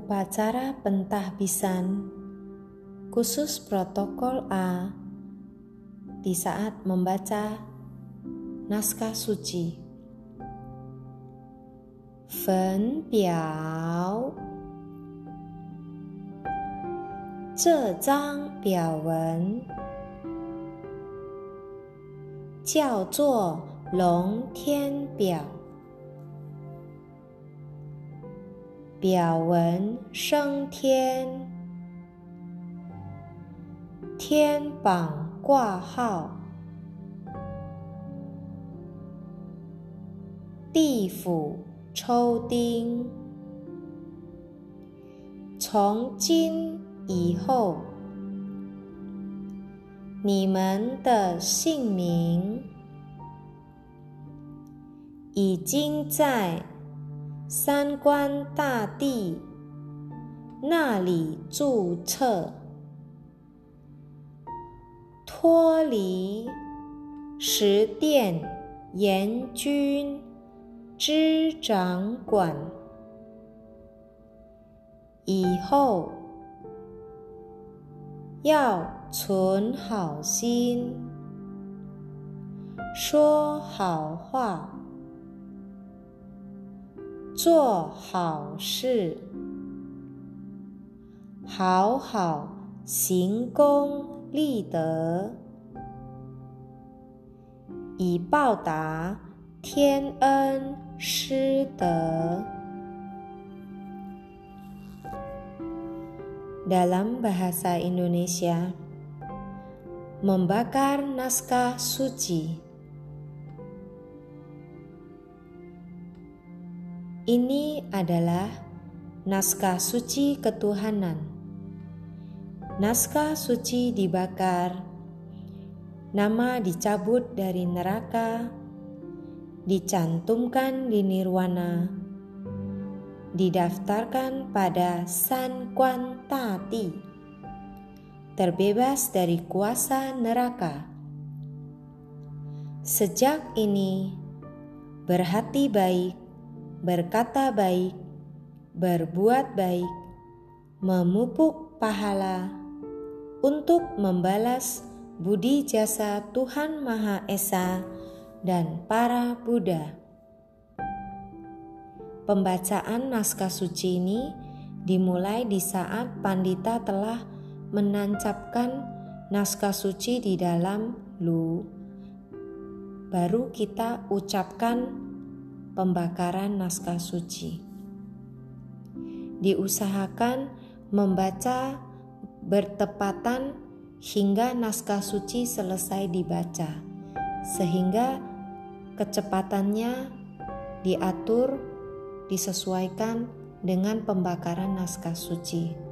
upacara pentahbisan khusus protokol A di saat membaca naskah suci. Fen Biao. 这张表文叫做龙天表。表文升天，天榜挂号，地府抽丁。从今以后，你们的姓名已经在三官大帝那里注册，脱离十殿阎君之掌管。以后要存好心，说好话，做好事，好好行功立德，以报答天恩师德。Dalam bahasa Indonesia, membakar naskah suci. Ini adalah naskah suci ketuhanan. Naskah suci dibakar, nama dicabut dari neraka, dicantumkan di nirwana, didaftarkan pada San Quan Tati, terbebas dari kuasa neraka. Sejak ini, berhati baik, berkata baik, berbuat baik, memupuk pahala untuk membalas budi jasa Tuhan Maha Esa dan para Buddha. Pembacaan naskah suci ini dimulai di saat pandita telah menancapkan naskah suci di dalam lu. Baru kita ucapkan pembakaran naskah suci. Diusahakan membaca bertepatan hingga naskah suci selesai dibaca, sehingga kecepatannya diatur disesuaikan dengan pembakaran naskah suci.